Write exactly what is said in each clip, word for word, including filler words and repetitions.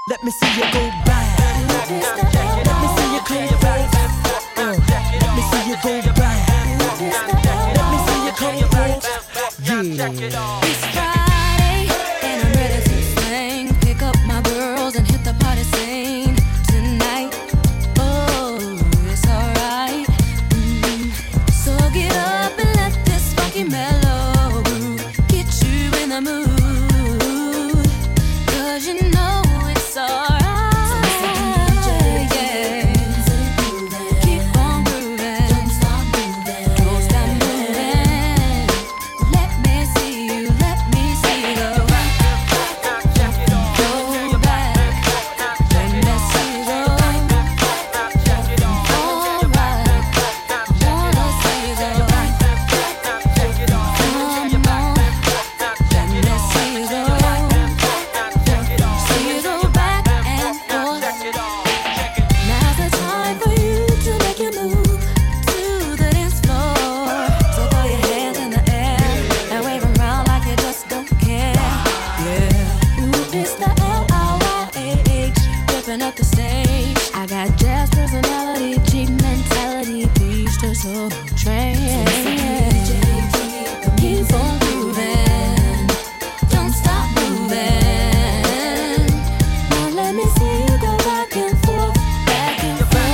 Let me see you go back. Let me see you close back. Uh, let me see you go back. Let me see you close back. Yeah. It's Friday and I'm ready to sing. Pick up my girls and hit the party scene tonight. Oh, it's alright. Mm. So get up and let this funky mellow groove get you in the mood. Cause you know it's alright. Up the stage, I got jazz personality, cheap mentality, peach to soul train. Keep on moving, don't stop moving. Now let me see you go back and forth, back and forth.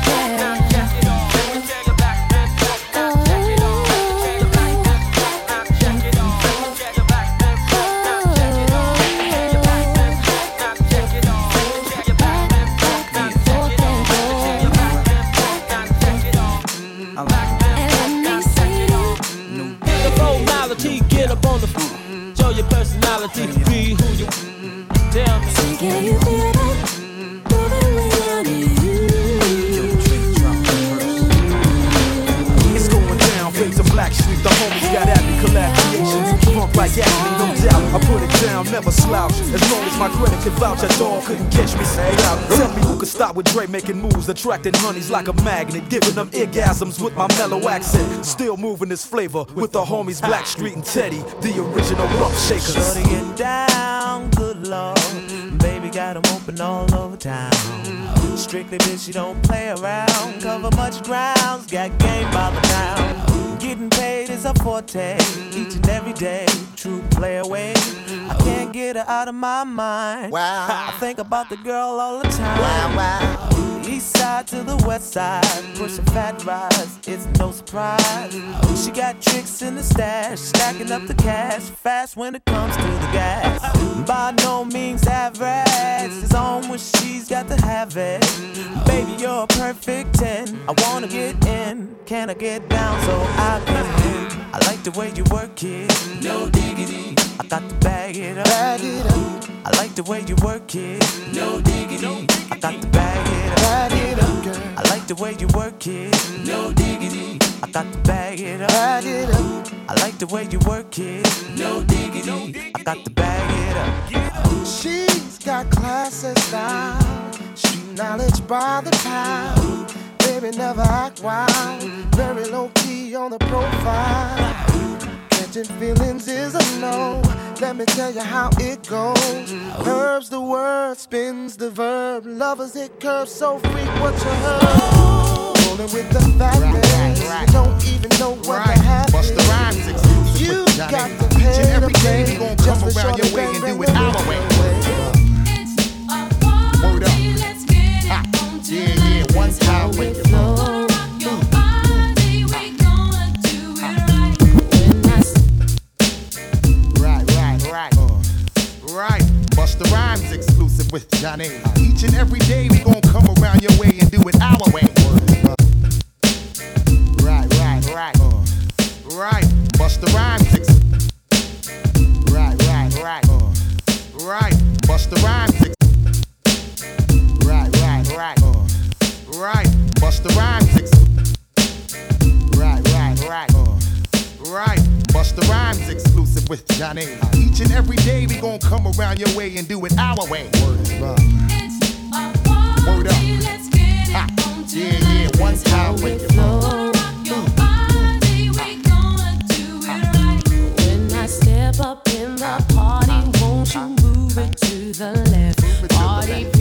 Get up on the floor, show your personality, be who you tell me. So can you feel that? Moving when I need you. It's going down, Face of Black Street. The homies got happy collaborations. Funk like Ashley, no doubt. I put it down, never slouch. As long as my credit can vouch, that dog couldn't catch me. Say out. Tell me who could stop with Dre making moves, attracting honeys like a magnet, giving them orgasms with my mellow accent. Still moving this flavor with the homies Black Street and Teddy, the original rough shakers. Shorty get down, good lord. Baby got 'em open all over town. Strictly bitch, you don't play around. Cover much grounds, got game by the town. Getting paid is a forte, each and every day. True play away. I can't get her out of my mind. Wow. I think about the girl all the time. Wow, wow. East side to the west side, pushing fat rides, it's no surprise. She got tricks in the stash, stacking up the cash, fast when it comes to the gas. By no means average, it's on when she's got to have it. Baby, you're a perfect ten, I wanna get in, can I get down so I can win? I like the way you work it, no diggity, I got to bag it up. Bag it up. I like the way you work it, no diggity, I got to bag it up. Bag it up, girl. I like the way you work it, no diggity, I got to bag it up. Bag it up. I like the way you work it, no diggity, I got to bag it up. She's got class and style, street knowledge by the pound. Baby never act wild, very low key on the profile. Catching feelings is a no. Let me tell you how it goes. Herbs the word, spins the verb. Lovers hit curves so freak what you heard. Rolling with the fatness, right, right. you don't even know what Right. the habit Bust the is. rhymes exclusive You with Johnny. got to Each pay and every to day play we gon' just come to around show your the way bang, and bang, do it bang, our bang, way. bang. Word up. Ha. Yeah, yeah, one time with you. Right, right, right. Uh, right. Bust the rhymes exclusive with Johnny. Each and every day we gon' come around your way and do it our way. Right, right, right. Uh, right. Bust the rhymes ex- Right, right, right. Uh, right. Bust the rhymes ex- Right, right, right. Uh, right. Bust the rhymes ex- Right, right, right. Uh, right. Bust the rhymes exclusive with Johnny. Each and every day we gon' come around your way and do it our way. Word is love. Word up. Ha. Yeah, yeah, one time with you. When I step up in the party, won't you move it to the left? Party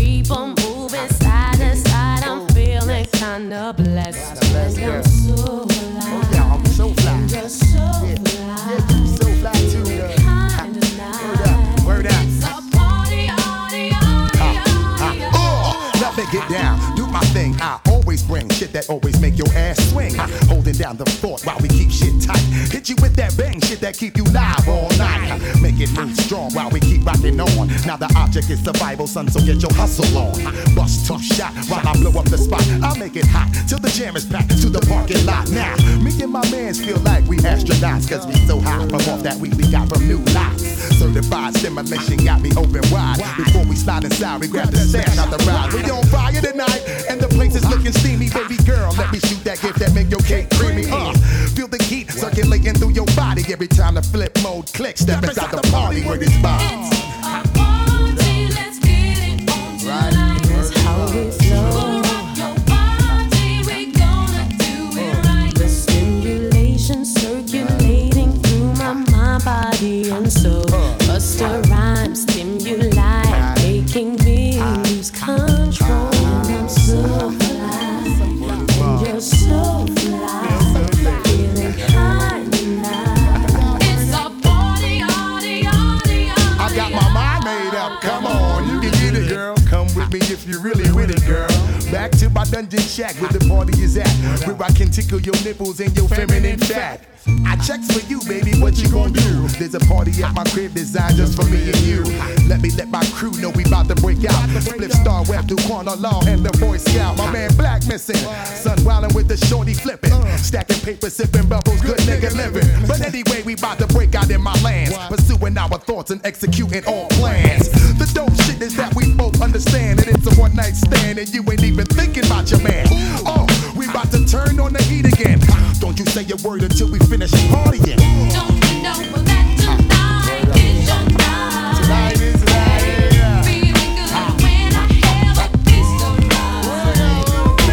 that always make your ass swing. Holding down the fort while we keep shit tight. Hit you with that bang shit that keep you live all night. Make it move strong while we keep rocking on. Now the object is survival, son, so get your hustle on. Bust two shot while I blow up the spot. I'll make it hot till the jam is packed to the parking lot. Now, me and my mans feel like we astronauts, cause we so high from off that weed we got from new lots. Certified stimulation got me open wide. Before we slide inside, we grab the stash out the ride. We on fire tonight, and the place is looking steamy. Baby girl, let me shoot that gift that make your cake creamy. Uh, feel the heat circulating through your body every time the flip mode clicks. Step inside the party where this vibes. Let's get it on tonight. That's how we flow. Rock your body, we gonna do it right. The stimulation circulating through my mind, body, and soul. Busta Rhymes stimuli, making me lose control. And I'm so fly, and you're so fly, feeling high tonight. It's a party, party, party, party. I got my mind made up, come on, you can get it, girl. Come with me if you really with it, girl. Back to my dungeon shack where the party is at, where I can tickle your nipples and your feminine fat. I checks for you, baby, what you gon' do? There's a party at my crib designed just for me and you. Let me let my crew know we bout to break out. Split Star Web through Quanah Law and the Boy Scout. My man Black missing, son wildin' with the shorty flipping, stacking paper, sipping bubbles, good nigga living. But anyway, we bout to break out in my lands, pursuing our thoughts and executing all plans. The dope shit is that we both understand that it's a one night stand and you ain't even thinking about your man. Oh, we bout to turn on the heat again. Don't you say a word until we finish partying. Don't you know that tonight is your night? Tonight is the night, yeah. Feeling good when I have a piece of mind.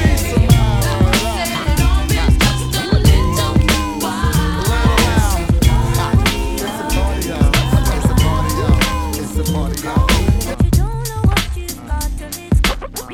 Set it on real just a little while. It's a party, y'all. It's a party, y'all. It's a party, y'all. But you don't know what you've got till it's gone.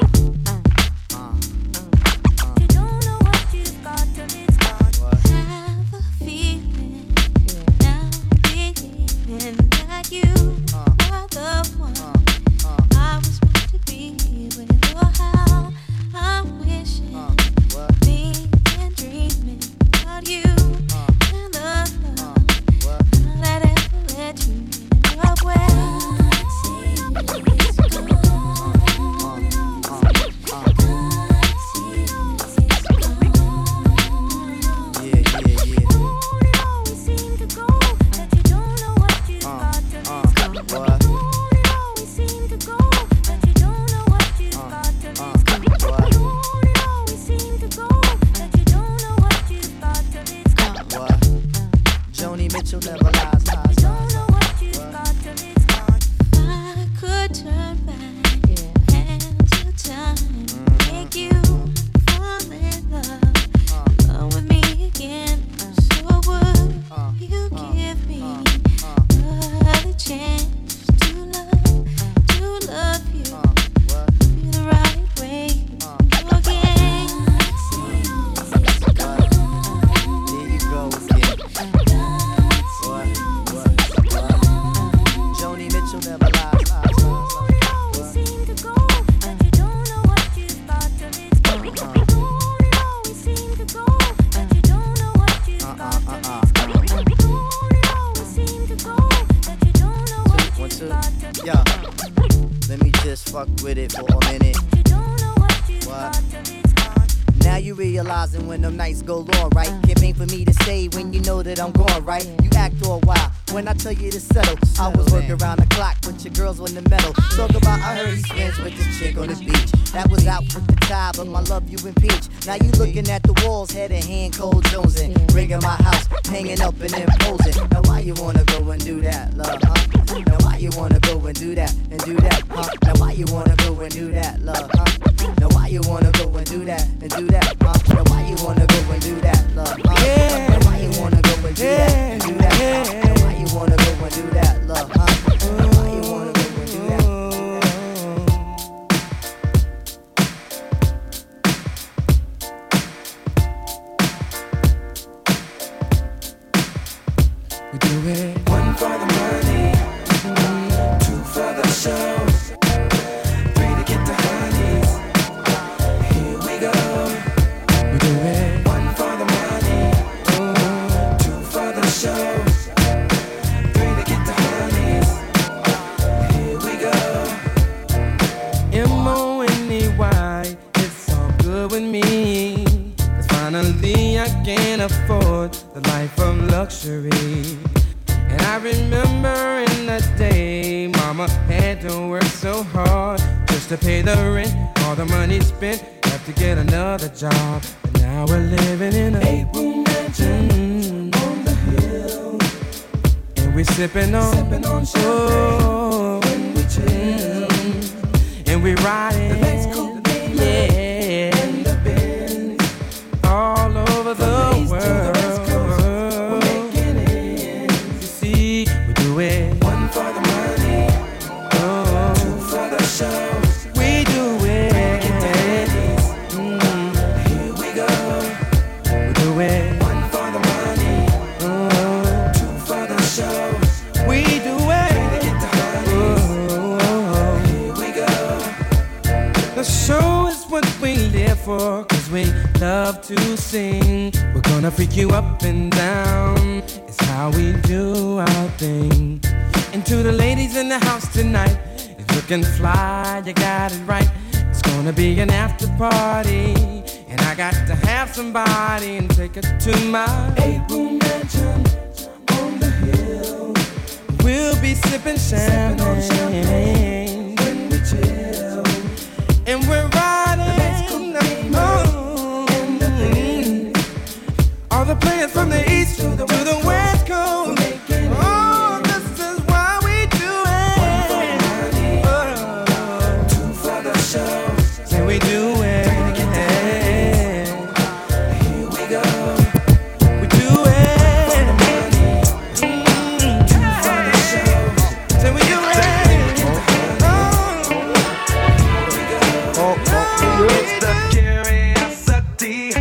You don't know what you've got till it's gone. Have a feeling now, feeling that you are the one I was meant to be with. Oh, how I'm wishing, thinking, dreaming about you and the love that ever let you in love with. Joni Mitchell never lies, lies, lies. I could turn back and to time, make you fall in love, love with me again. So would you give me another chance to love, to love you, you the right way again? There you go again. Joni Mitchell never lies, lies, lies, lies. One, two, yeah. Let me just fuck with it for a minute. What? Now you realizing when them nights go long, right? It ain't for me to say when you know that I'm gone, right? You act all wild when I tell you to settle. I was working around the clock with your girls on the metal. Talk about I heard he's friends with this chick on the beach. That was out with the tie, but my love you impeach. Now you looking at the walls, head and hand, cold jonesing. Rigging my house, hanging up and imposing. Now why you wanna go and do that, love, huh? Now why you wanna go and do that, and do that, huh? Now why you wanna go and do that, love, huh? Now why you wanna go and do that, and do that, huh? Now why you wanna go and do that, love, huh? Now why you wanna go and do that, and do that, huh? Now why you wanna go and do that, love, huh? Now why you wanna go and do that? We do it. One for the money, two for the show, three to get the honeys. Here we go. We to work so hard just to pay the rent. All the money spent, have to get another job. And now we're living in a eight-room mansion mm, on the hill. And we're sipping on, sipping on champagne when we chill. Mm, and we're riding the Mexico, yeah, and the Benz all over the, the world. For, cause we love to sing. We're gonna freak you up and down. It's how we do our thing. And to the ladies in the house tonight, it's looking fly, you got it right. It's gonna be an after party, and I got to have somebody and take her to my eight-room mansion on the hill. We'll be sipping champagne, champagne when we chill, and we're riding. All the players from the east to the, to the west coast. Oh, this is why we do it. Oh, two for the show. Say we do it. Here we go. We do it. Mm, two for the show. Say we do it. Oh, here we go. Oh, oh, it's the curiosity.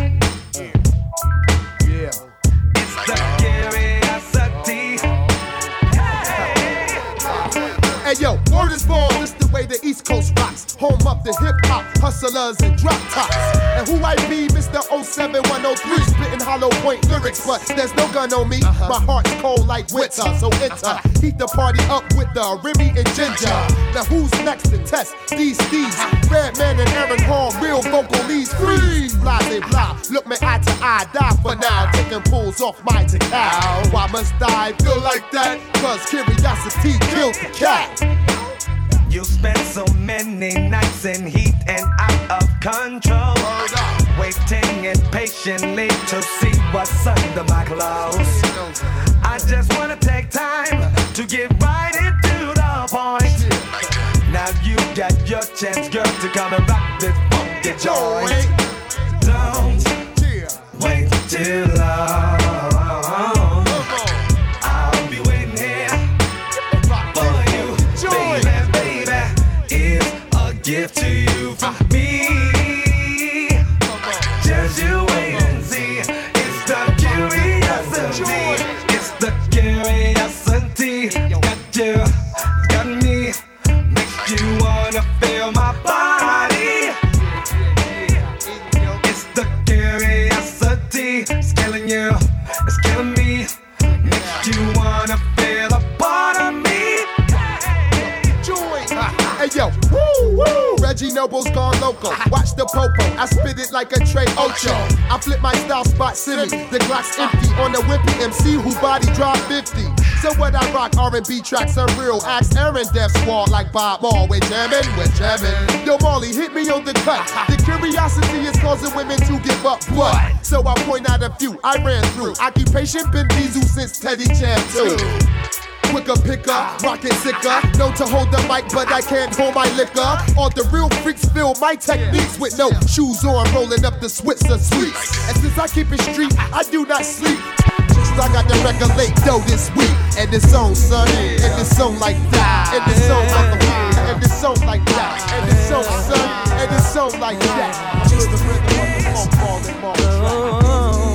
Hey yo, word is born, this the way the East Coast rocks. Home of the hip-hop, hustlers and drop tops. And who I be, Mister oh seven one oh three, spitting hollow point lyrics, but there's no gun on me. Uh-huh. My heart's cold like winter, so enter. Heat the party up with the Remy and Ginger. Now who's next to test these thieves? Redman and Aaron Hall, real vocal leads, freeze. Blase blah, look me eye to eye, die for now. Taking pulls off my cow. Why must I feel like that? Cause curiosity killed the cat. You spent so many nights in heat and out of control, waiting impatiently to see what's under my clothes. I just wanna take time to get right into the point. Now you got your chance, girl, to come and rock this funky joint. Don't wait too long. I'll be waiting here for you, baby, baby. It's a gift to you from me. Just you wait and see. It's the curiosity. It's the curiosity. Got you, got me. Makes you wanna feel my body. It's the curiosity. It's killing you. It's killing me. Makes you wanna feel a part of me. Hey yo, woo, woo. Reggie Noble's gone loco. Watch the popo, I spit it like a Trey Ocho. I flip my style spot silly. The Glock's empty on the wimpy M C who body drop fifty. So what I rock R and B tracks are real. Ask Aaron Def Squad like Bob Maul. We're jamming, we're jamming. Yo Marley, hit me on the cut. The curiosity is causing women to give up blood. So I'll point out a few I ran through. Occupation been Diesel since Teddy Jam too. Quicker picker, rockin' sicker. Known to hold the mic, but I can't hold my liquor. All the real freaks feel my techniques with no shoes on, rolling up the Switzer sweets. And since I keep it street, I do not sleep. Just I got the record late dough this week. And it's on, son. And it's on like that. And it's on like that. And it's on like that. And it's on, son. And it's on like that. Just the rhythm of the funk ball and ball track.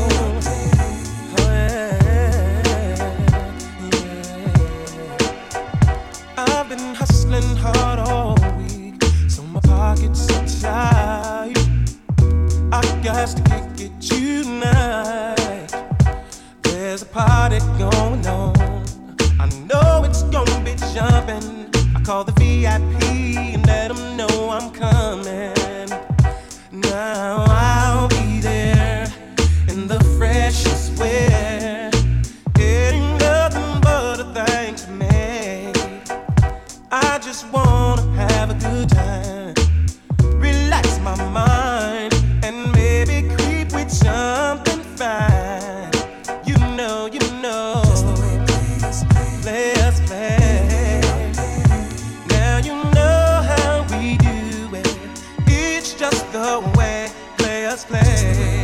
I've been hustling hard all week, so my pockets are tight. I got to kick it tonight. There's a party going on. I know it's gonna be jumping. I call the V I P and let them know I'm coming. Now I'll be there in the freshest wear. It ain't nothing but a thing to me. I just wanna have a good time, relax my mind, and maybe creep with something fine. You know, you know, play us play. Now you know how we do it. It's just the way play us play.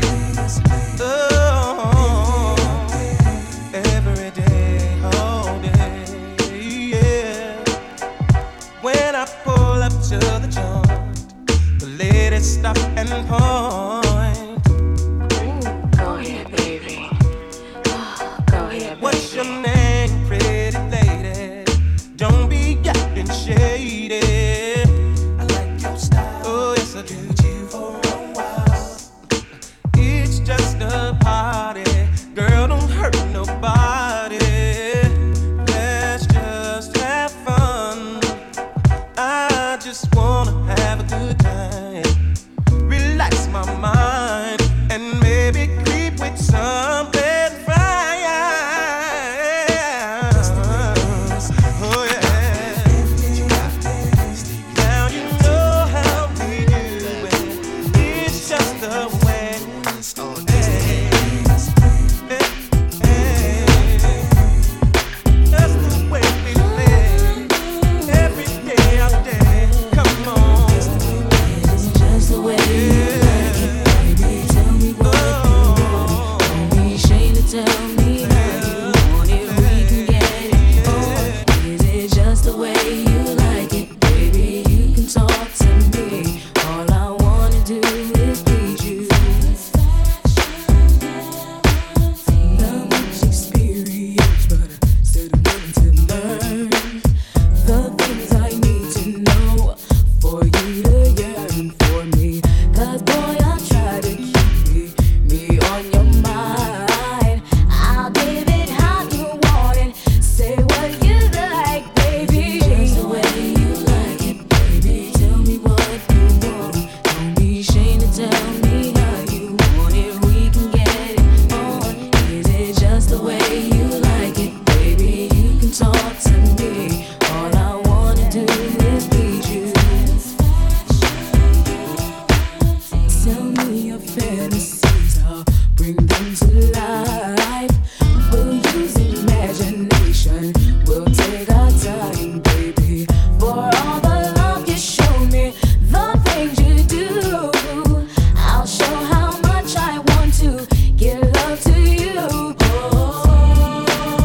Oh, every day, all day, yeah. When I pull up to the joint, the ladies stop and point. Ooh, go ahead, baby. Oh, go ahead, baby. What's your name, pretty lady? Don't be acting shady. I like your style. Oh, yes, I do. You for a while. It's just a party. Girl, don't hurt nobody. Let's just have fun. I just wanna have a good time, relax my mind, and maybe creep with something fine. Oh yeah. Now you know how we do it. It's just the way. Hey, hey, hey. That's the way we play. Every day out there. Come on. It's just the way you like it, baby. Tell me what you want. Don't be ashamed to tell me how you want it. We can get it on. Is it just the way you like it, baby? You can talk to me. All I wanna do is please you. Not much experience, but I'm still willing to learn the things I need to know for you to yearn for me. 'Cause boy, I try to keep me, me on your mind. I'll give it how you want it. Say what you like, baby. Just the way you like it, baby. Tell me what you want. Don't be ashamed to tell me how you want it. We can get it on. Is it just the way you like it, baby? You can talk to me. All I wanna do is please you. Tell me your fantasies, I'll bring them to life. We'll use imagination, we'll take our time, baby. For all the love you show me, the things you do, I'll show how much I want to give love to you. Oh,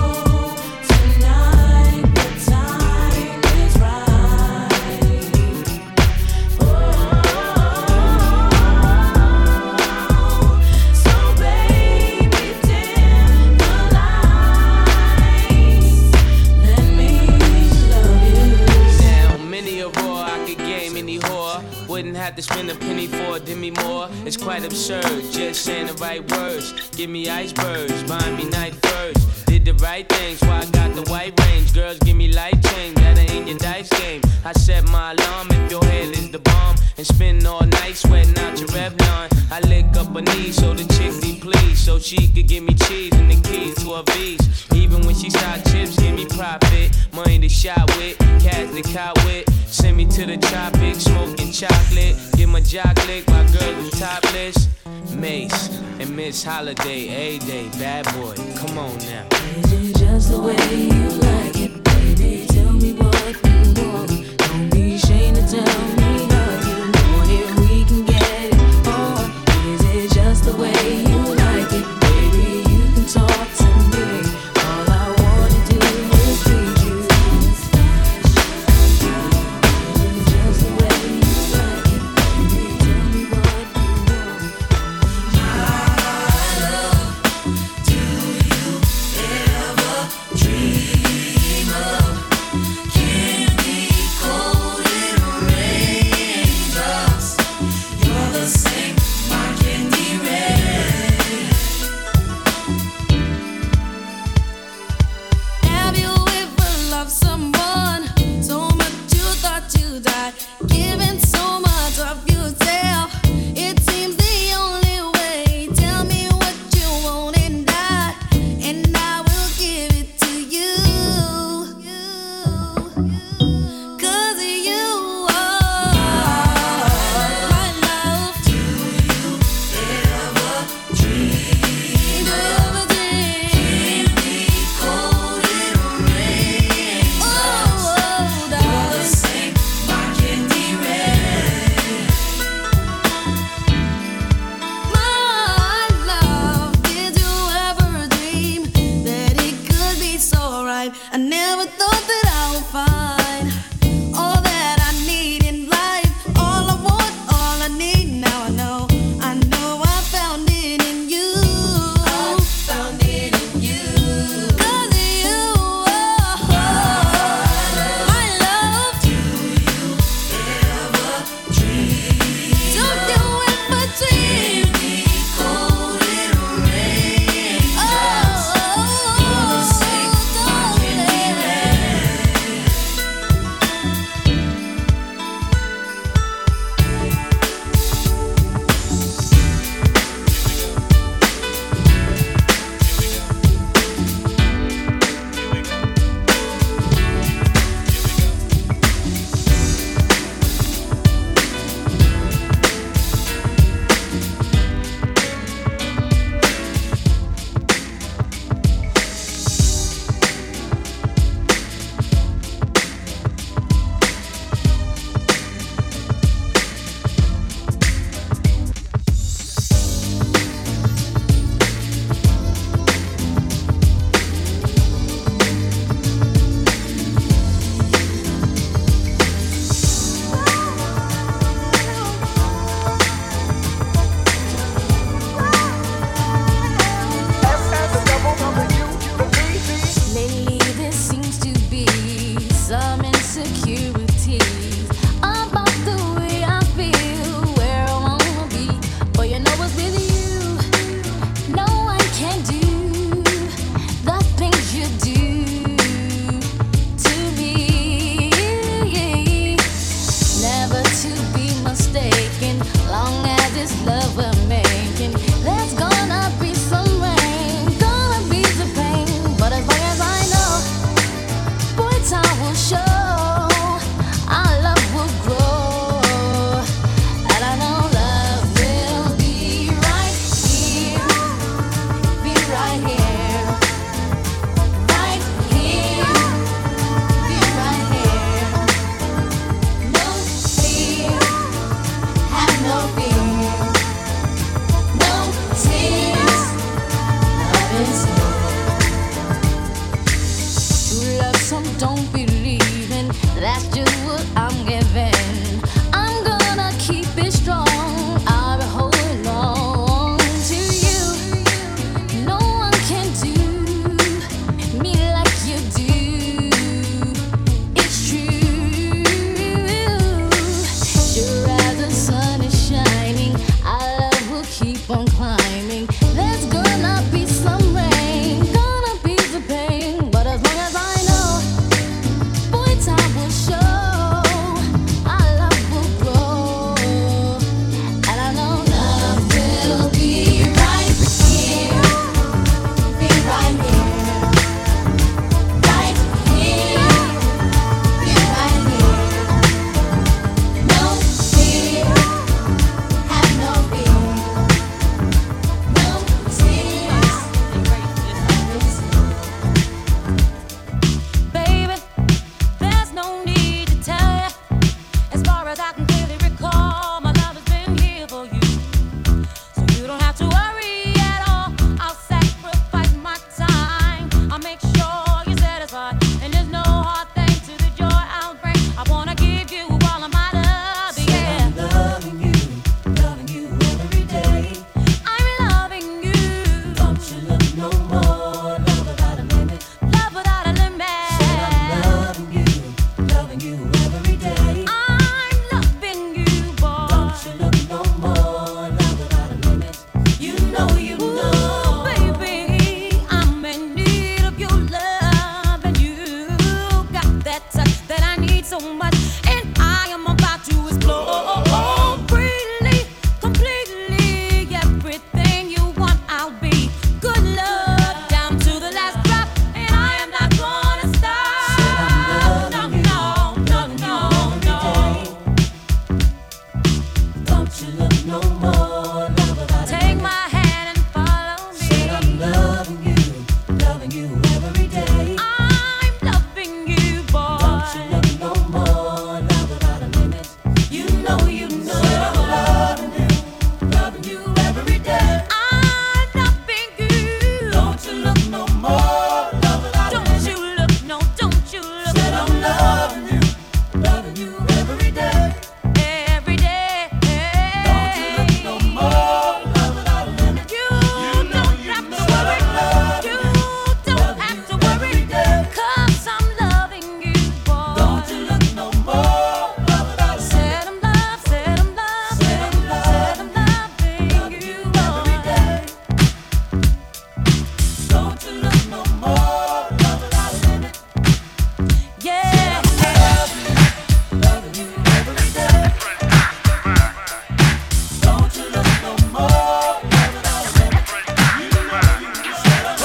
tonight the time is right. So baby, dim the lights. Let me love you. Now, many a roar I could game any whore. Wouldn't have to spend a penny for a Demi Moore. It's quite absurd, just saying the right words. Give me icebergs, buy me night first. Did the right things, why I got the white range. Girls give me light change, that ain't your dice game. I set my alarm if your head is the bomb, and spend all night sweating out your Revlon. I lick up her knees so the chick be pleased, so she could give me cheese and the keys to her V's. Even when she start chips, give me profit. Money to shop with, cash to cop with. Send me to the tropics, smoking chocolate. Get my jock lick, my girl is topless. Mace and Miss Holiday, A-Day, bad boy, come on now. Is it just the way you like it, baby? Tell me what you want. Don't be ashamed to tell me how you want it. We can get it on. Is it just the way you like it, baby? You can talk to me. All I wanna do is please you. Is it just the way you like it, baby? Tell me what you want. Do you ever dream of what I'm giving. I'm gonna keep it strong. I'll be holding on to you. No one can do me like you do. It's true. Sure as the sun is shining, our love will keep on climbing. There's gonna be some rain, gonna be the pain, but as long as I know, boy, time will show, our love will grow, and I know love will be right here, be right here, right here, be right here. No fear, have no fear, no tears. Baby, there's no need to tell you. As far as I can clearly recall, my love has been here for you. So you don't have to worry at all. I'll sacrifice my time. I'll make sure you're satisfied. And there's no hard thing to the joy I'll bring. I wanna give you all of my love, yeah. I'm loving you, loving you every day. I'm loving you. Don't you look no more. Love without a limit. Love without a limit. I'm loving you, loving you every day. I'm loving you, boy. Don't you look no more. Love without a limit. You know, you know, baby, I'm in need of your love, and you got that touch that I need so much, and I am about to explore freely, completely, everything you want. I'll be good love down to the last drop, and I am not gonna stop. No, no, no, no, no. Don't you look no more. Love without a Take my hand and follow me. Said I'm loving you, loving you every day. I'm loving you, boy. Don't you look no more. Love without a limit. You know, you know. Said I'm loving you, loving you every day. I'm loving you. Don't you look no more. Love without a limit. Don't you look, no, don't you look. Said I'm loving you, loving you every day. Every day. Don't you look no more. Love without a limit. You don't have to worry. You don't have to worry. 'Cause I'm loving you, boy. Don't you look no more. Love without a limit. Said I'm love, said I'm love, said I'm love, said I'm loving you, boy. Don't you look no more. Love without a limit. Yeah. Loving you every day. Don't you look no more. Love without a limit. You know you said I'm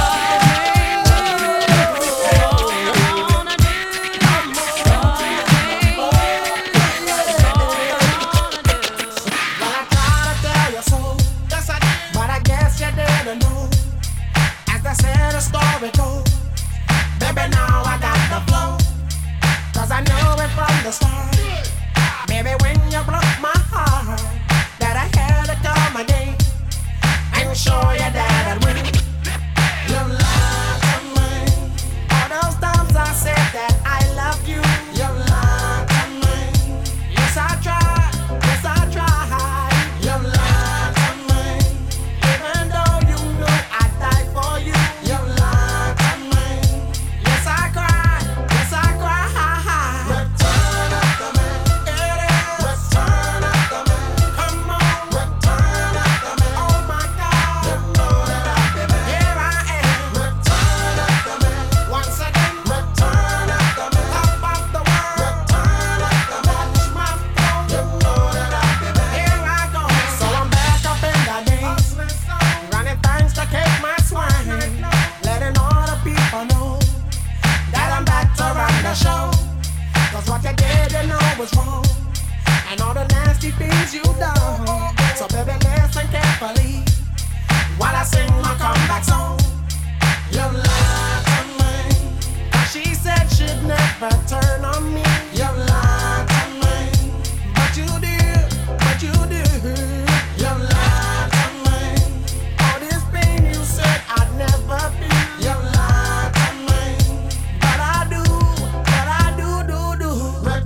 Well, I tried to tell you so, yes I did, but I guess you didn't know. As they said, the story goes, baby, now I got the flow. 'Cause I knew it from the start. Baby, when you broke my heart, that I had to come again and show you that I'd win. You lied to me. All those times I said that I loved you, you lied to me. Yes, I tried, yes, I tried. You lied to me. Even though you knew I'd die for you, you lied to me. Yes, I cried, yes, I cried. Return of the man, it is. Return of the man, come on. Return of the man, oh my God. You know that I've been here I am. Return of the man, once again. Return of the man, top of the world. Return of the man, touch my throne. You know that I've been here I go. So I'm back up in the game, running things to keep my swing, letting all the people know that I'm back to run the show. 'Cause what you did, you know was wrong, and all the nasty things you done. So baby, listen carefully while I sing my comeback song. You lied to me. She said she'd never turn on me. You lied to me, but you did, but you did. You lied to me. All this pain you said I'd never feel. You lied to me, but I do, but I do, do, do.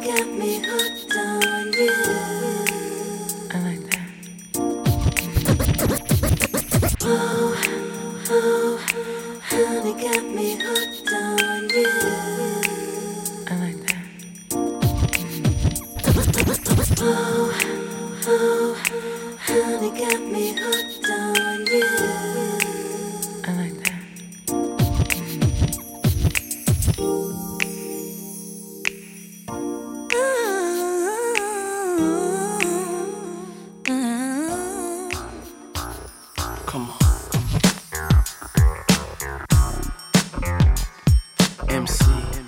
got me hooked on you. I like that. Oh, oh, honey got me hooked on you. I like that. Oh, oh, honey got me hooked on you. I like that. Come on. M C.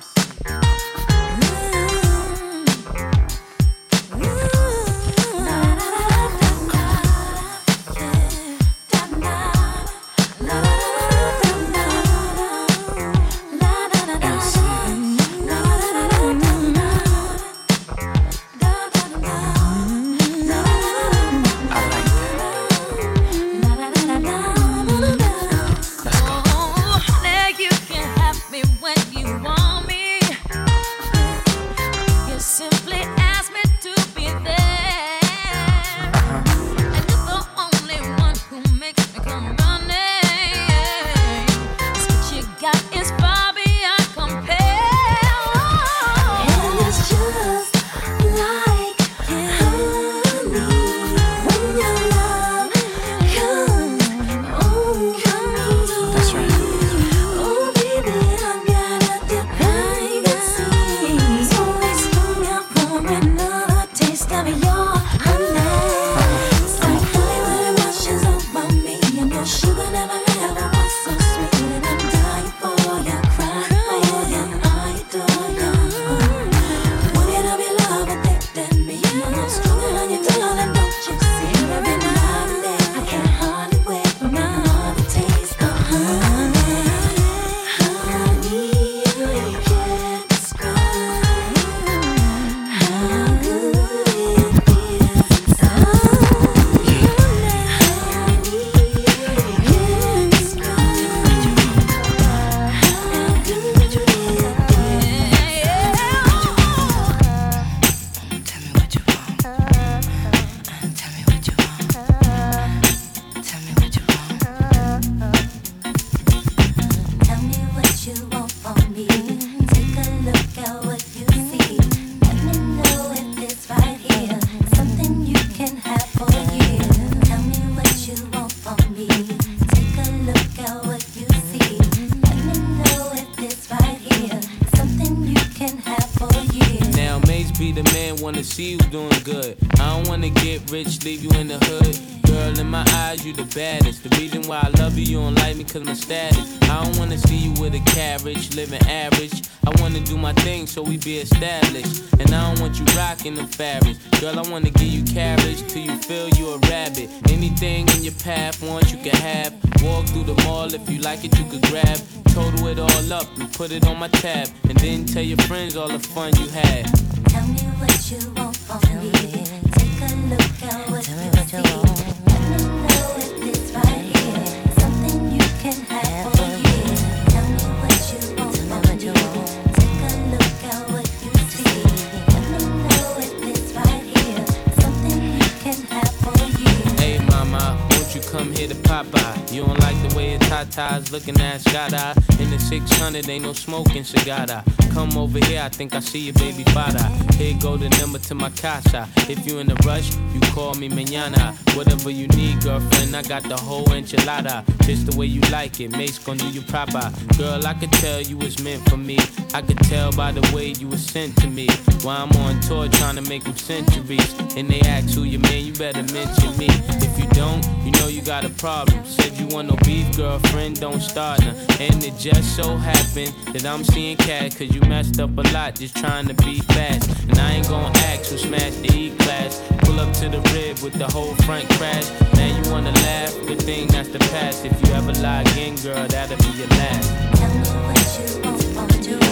See you doing good. I don't wanna get rich, leave you in the hood. Girl, in my eyes, you the baddest. The reason why I love you, you don't like me cause my status. I don't wanna see you with a carriage, living average. I wanna do my thing so we be established. And I don't want you rocking them fabrics. Girl, I wanna give you carriage till you feel you a rabbit. Anything in your path, once you can have. Walk through the mall, if you like it, you could grab. Total it all up and put it on my tab. And then tell your friends all the fun you had. Tell me what you want from me. Take a look at what you see. Let me know if it's right here. Something you can have for you. Tell me what you want from me. Take a look at what you see. Let me know if it's right here. Something you can have for you. Hey mama, won't you come here to Popeye? You don't like the way your tatas looking at Scott-Eye. In the six hundred, ain't no smoking cigar. Come over here, I think I see your baby father. Here go the number to my casa. If you in a rush, you call me mañana. Whatever you need, girlfriend, I got the whole enchilada. Just the way you like it, Mace gon' do you proper. Girl, I could tell you was meant for me. I could tell by the way you was sent to me. While I'm on tour trying to make them centuries. And they ask who you man, you better mention me. If you don't, you know you got a problem. Said you want no beef, girlfriend, don't start now. And it just so happened that I'm seeing cat cause you messed up a lot just trying to be fast. And I ain't gon' ask who smashed the E-class. Pull up to the rib with the whole front crash. Now you wanna laugh, good thing that's the past. If you ever lie again, girl, that'll be your last. Tell me what you want from me. Take a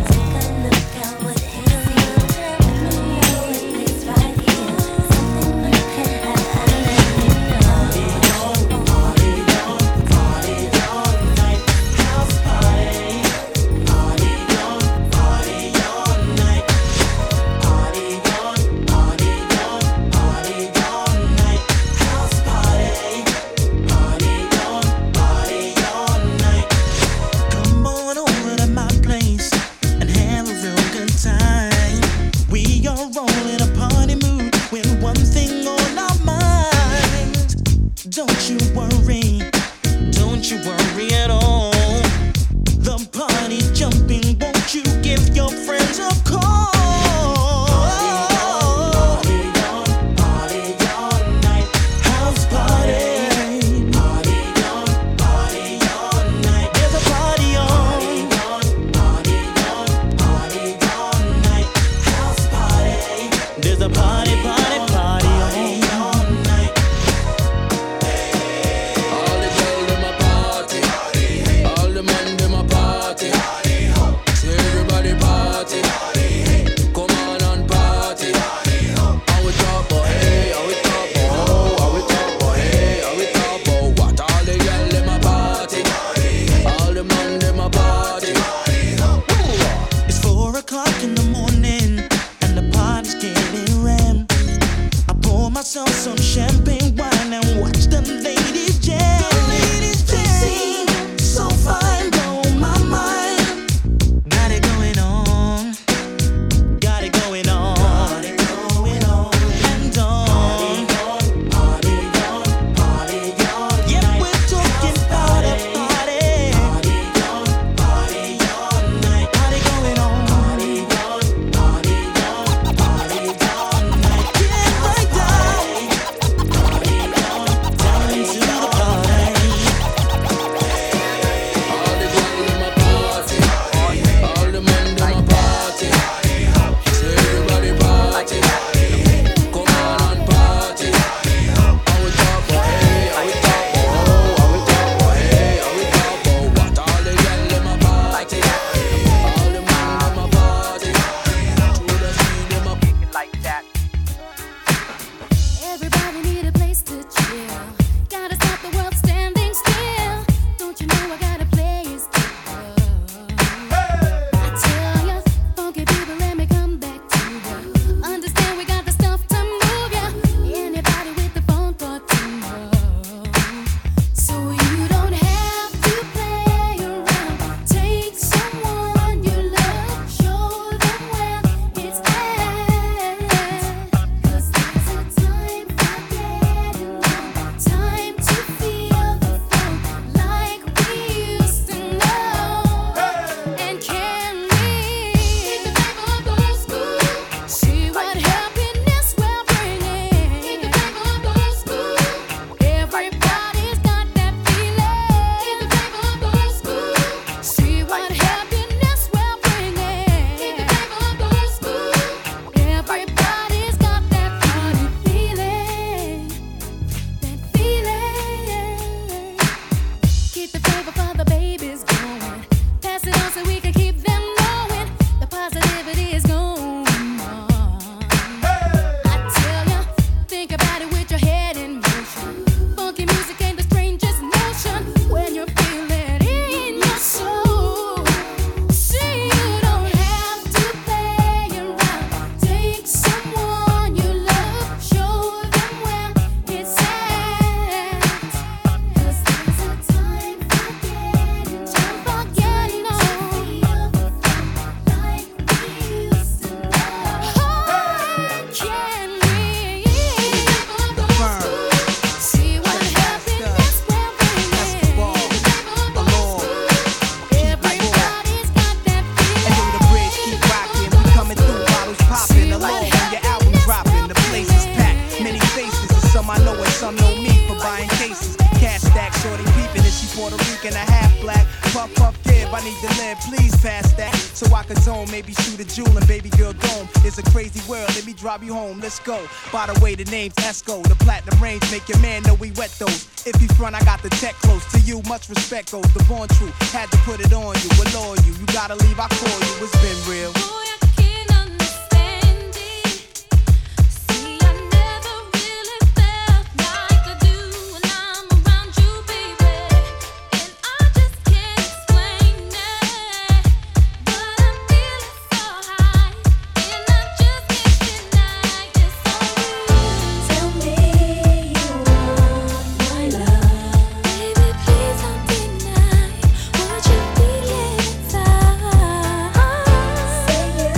look at what you see. Let me know if it's right here. Something you can have. Party on, party on, party on night. House party. Party on, party on night. glass of some champagne wine and watch the ladies jam. The ladies jam. They seem so fine, blow my mind. Got it going on. Got it going on. Got it going on. And on. Party on, party on, party on. Yeah, we're talking party, party. Party on, party on night. Party going on. Party on, party on, party on night. Get right down. Party on, down to the party. All the girls in my party, all the men in my party. So everybody party, come on and party. How we talk for hey, how we talk for oh, how we talk for hey, how we talk for what? All the girls in my party, all the men in my party. Through the street in my like that. Everybody need a place to chill. Gotta stop the world standing still. Don't you know I got a place to go? I tell ya, funky people, let me come back to ya. Understand we got the stuff to move ya. Anybody with the phone thought to know. So you don't have to play around. Take someone you love, show them where it's at. 'Cause there's a time for getting on, time to feel the flow like we used to know. And can we keep the paper up old school? See what happiness we're bringing. Keep the paper up old school. Everybody's got that feeling. Keep the paper up old school. See what happiness we're bringing. Keep the paper up old school. Everybody's got that funny feeling. That feeling. Keep the paper for the babies going. Pass it on so we can keep them knowing the positivity is going on. I tell ya, think about it with your head in motion. Funky music ain't the strangest notion when you feel it in your soul. See, you don't have to play around. Take someone you love, show them where it's at. 'Cause there's a time for getting, time for getting on. Like we used to know. Oh, can we see what happiness we're bringing? Everybody's got that And through the bridge, keep rocking. We coming through, bottles popping. Along when your album dropping, the place is packed. Many faces, and some I know and some know me for buying cases. Cash stack, shorty peeping, and she Puerto Rican, a half black. Puff, puff, kid, I need to live, please pass that. So I can zone, maybe shoot a jewel and baby girl dome. It's a crazy world, let me drive you home, let's go. By the way, the name's Esco, the platinum range, make your man know we wet those. If he front, I got the tech close. To you, much respect goes, the born true. Had to put it on you, allure you. You gotta leave, I call you, it's been real. boy, I can't understand it. See, I never really felt like I do when I'm around you, baby. And I just can't explain it. But I'm feeling so high, and I just can't deny it's so real. Tell me you want my love, baby. Please don't deny what you feel inside. Say you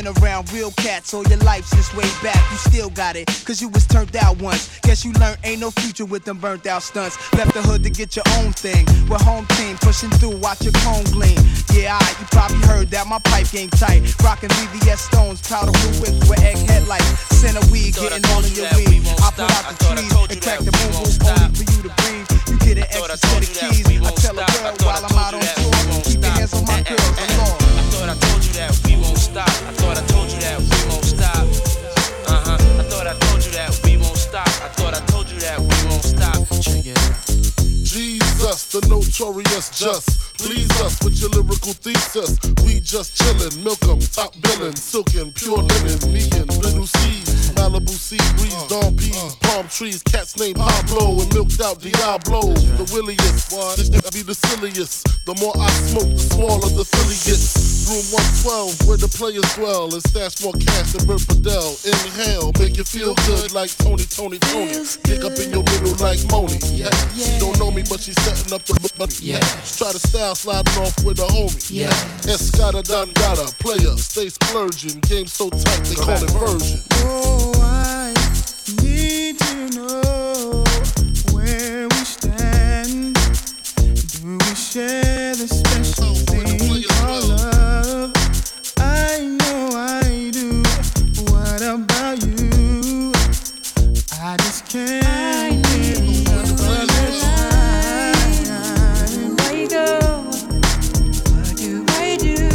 been around real cats all your life since way back. You still got it, cause you was turned out once. Guess you learned ain't no future with them burnt out stunts. Left the hood to get your own thing. With home team pushing through, watch your cone gleam. Yeah, I, you probably heard that my pipe game tight. Rockin' V V S Stones, powder blue whips with egg headlights. Center weed, getting all in your weed. I put out the trees and crack the boom boom only for you to breathe. You get an extra set of keys. I tell a girl while I'm out on tour, keep your hands on my girls. I'm long. I thought I told you that we won't stop. I thought I told you that we won't stop. Uh huh. I thought I told you that we won't stop. I thought I told you that we won't stop. Check it out. Jesus, the notorious just. Please us with your lyrical thesis. We just chillin', milk 'em, top billin', silkin', pure linen, me and little seeds, Malibu sea breeze, dawn peas, palm trees, cats named Pablo and milked out Diablo. The williest, this nigga be the silliest. The more I smoke, the smaller the silly gets. Room one twelve, where the players dwell, and stash more cash than Bert Fidel. Inhale, make you feel good like Tony, Tony, Tony. Pick up in your middle like Moni. Yeah. She don't know me, but she's setting up the but yeah. Try to style sliding off with a homie. Yeah. Escada Dangada, player, stay splurging. Game so tight, they call it version. Oh, I need to know where we stand. Do we share the special thing called love? I know I do. What about you? I just can't get enough of your time. Where you go? What do I do?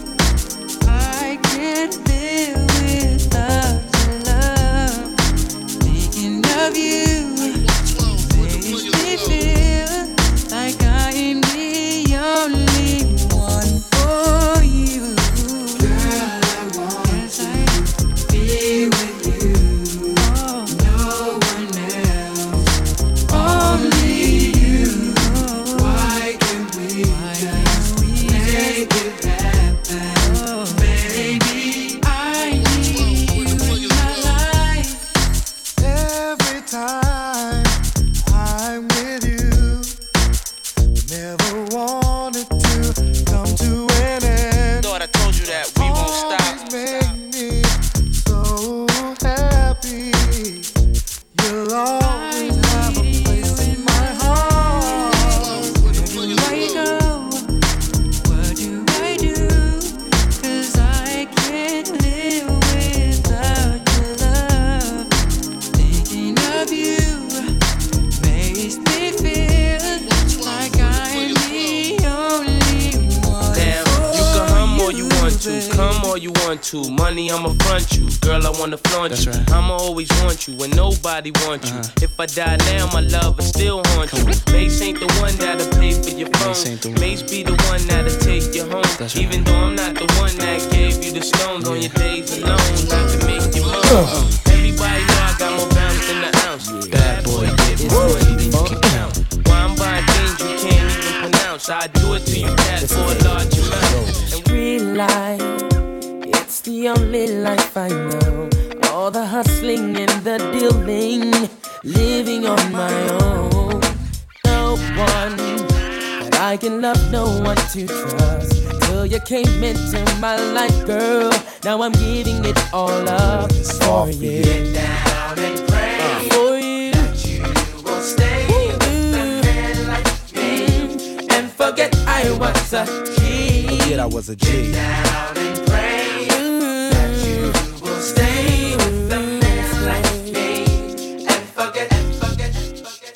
I can't live without your love. Thinking of you makes me feel like I am the only one for you. Girl, I want to be with you. No one else, only you. Why can't we just make it happen? Baby, I need you in my life. Every time I'm with you, never wanted to come to an end. Thought I told you that we won't stop. Always make me so happy. You'll always have a place in my heart. Where you go? What do I do? 'Cause I can't live without your love. Thinking of you makes me feel like I'm the only one. Damn, you can hum all you want to, come all you want to. Money, I'ma front you. Girl, I wanna flaunt you. I'ma always want you when nobody wants you. If I die now, my love will still haunt you. Mace ain't the one that'll pay for your phone. Mace be the one that'll take you home. Even though I'm not the one that gave you the stones on your days alone, not to make you moan. Everybody know I got more bounce than the ounce. Bad boy, get more than you can count. Why I'm buying things you can't even pronounce. I do it to you, cat, for a large amount. Real life, it's the only life I know. All the hustling and the dealing, living on my own. No one that I can love, no one to trust. Till you came into my life, girl. Now I'm giving it all up for you. Get down and pray for you that you will stay with a man like me and forget I was a G. Forget I was a G. Get down and pray that you will stay with a man like me and forget, forget, forget.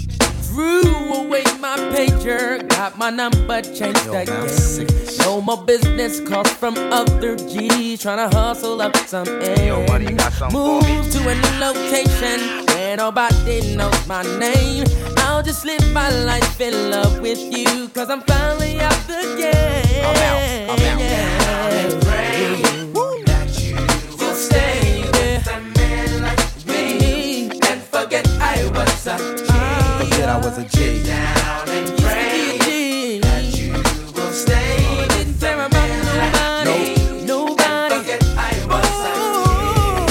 Threw away my pager, got my number changed Yo, again. No more business calls from other G's, tryna hustle up some ends. Yo, buddy, you got something for me? Move to a new location where nobody knows my name. I'll just live my life in love with you, 'cause I'm finally out the game. I'm out, I'm out. And pray that you will stay with a man like me and forget I was a G. Forget I was a G. Down and pray that you will stay with a man like me. Nobody. Forget I was a G.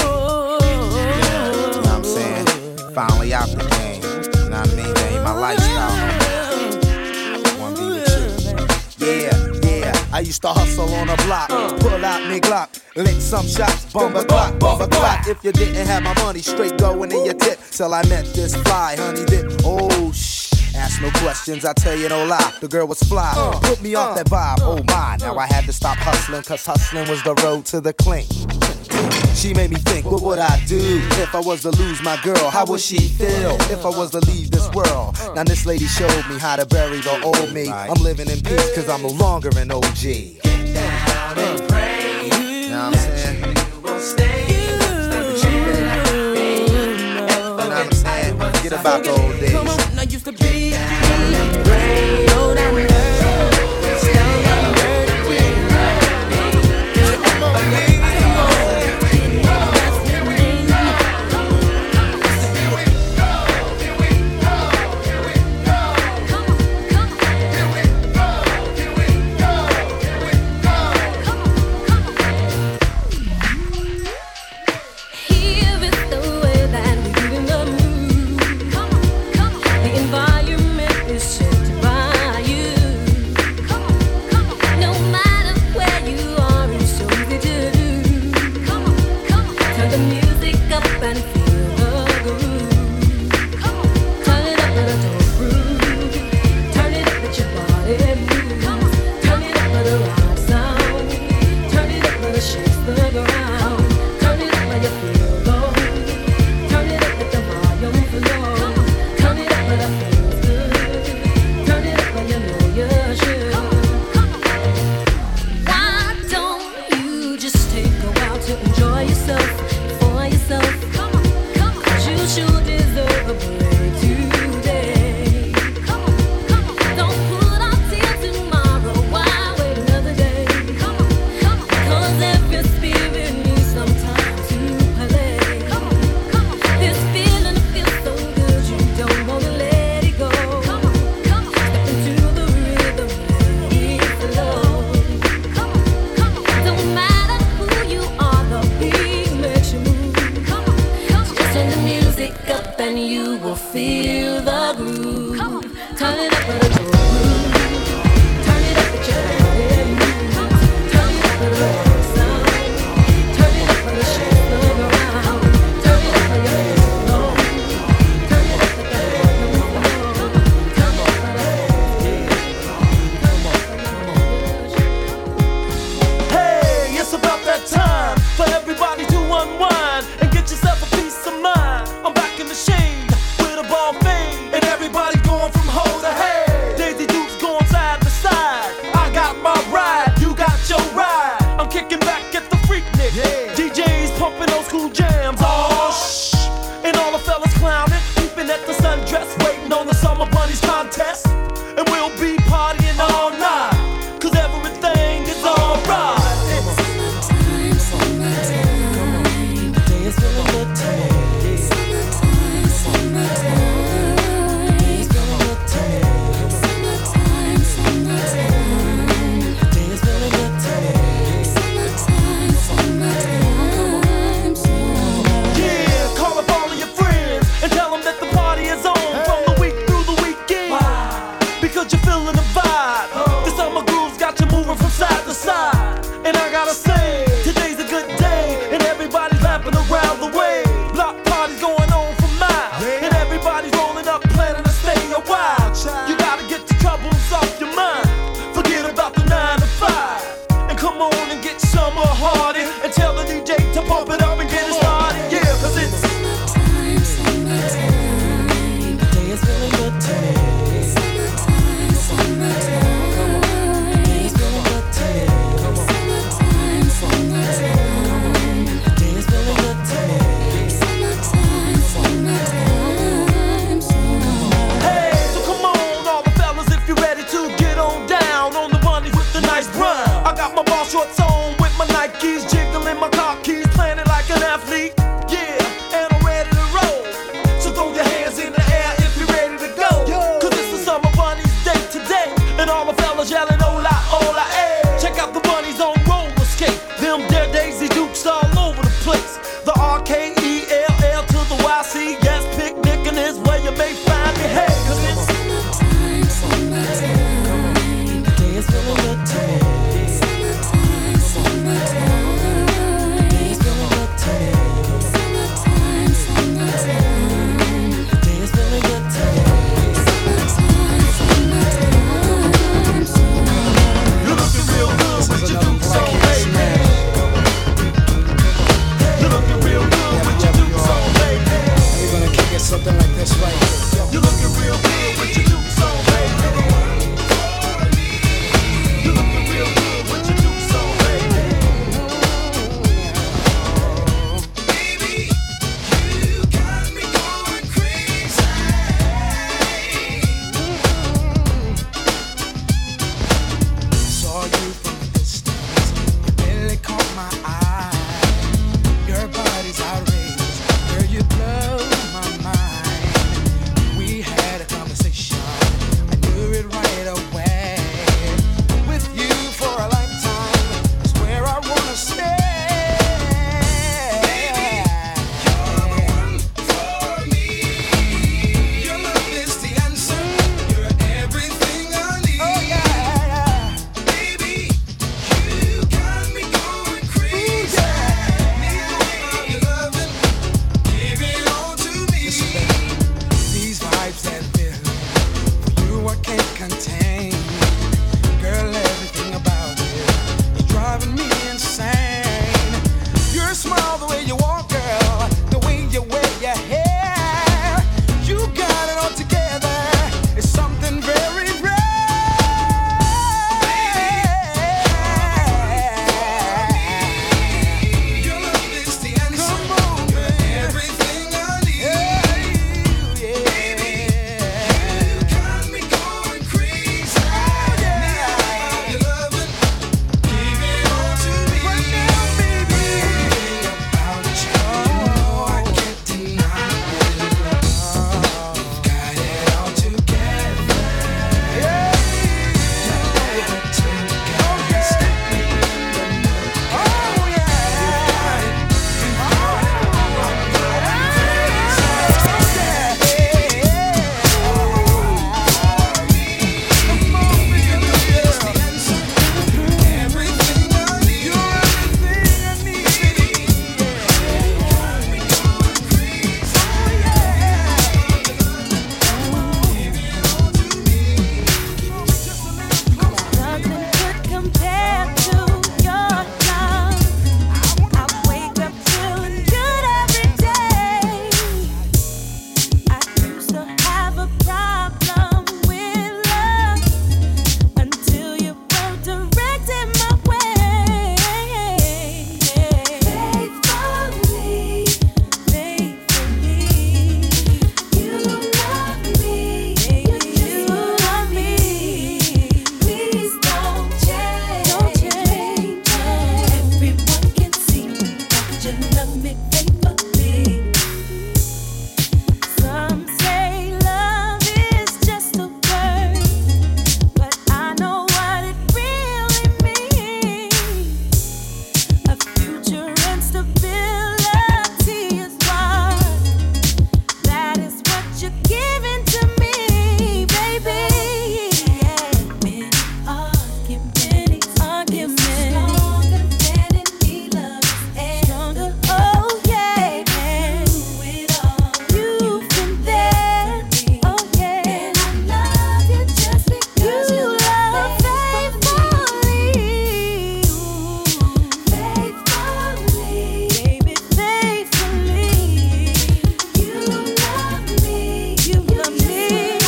You know what I'm saying? Finally out the game. You know what I mean? That ain't my lifestyle. Wanna be with you. Yeah, yeah. I used to hustle on a block, pull out me Glock, lick some shots, bump a clock, bump a clock. If you didn't have my money, straight going in your tip. Till I met this fly honey dip. Oh shh, ask no questions, I tell you no lie. The girl was fly, put me off that vibe. Oh my, now I had to stop hustling, cause hustling was the road to the clean. She made me think, what would I do if I was to lose my girl? How would she feel if I was to leave this world? Now this lady showed me how to bury the old me. I'm living in peace cause I'm no longer an O G. Get down and pray. You know what I'm saying? You will stay. You know what I'm saying? Forget about the old days. Come on, I used to be brave. Know that word. Summertime, summertime, the day is feeling good to me. right here. You looking real good with your dukes on, baby. You looking real good with your dukes on, baby. Baby, you got me going crazy. Saw you from a distance, you barely caught my eye. Your body's outrageous, girl, you blow my mind. We had a conversation, I knew it right away. With you for a lifetime is where I wanna stay. Baby, you're the one for me. Your love is the answer, you're everything I need. Oh yeah, yeah. Baby, you got me going crazy. Need more of your loving, give it all to me. These vibes that feeling for you I can't contain. Girl, everything about you is driving me insane. Your smile, the way you walk, girl, the way you wear your hair, you got it all together. It's something very rare. Your love is the answer. Come on, you're everything I need. Baby, you got me going crazy. Need more of your loving, give it all to me. Right now, baby, about you, I can't deny it. You've got it all together. Yeah, you took it, stick me in the mud. Oh yeah, you got it, you got it. I'm going crazy. Come on, baby, your love is the answer. Everything I need. You're everything I need. You got me going crazy. Oh yeah. Give it all to me. Just a little closer. Nothing could compare to your love. I wake up feeling good every day. I used to have a problem with love until you were directing my way. Faithfully, faithfully, you love me, you love me. Please don't change, don't change. Everyone can see that you love me faithfully. Some say love is just a word, but I know what it really means. A future and stability is what, that is what you're giving to me, baby. Many arguments, arguments, stronger than any love is stronger. Oh yeah, you've been there. Oh yeah, and I love you just because you love faithfully, faithfully, baby, faithfully. You love me, you love me,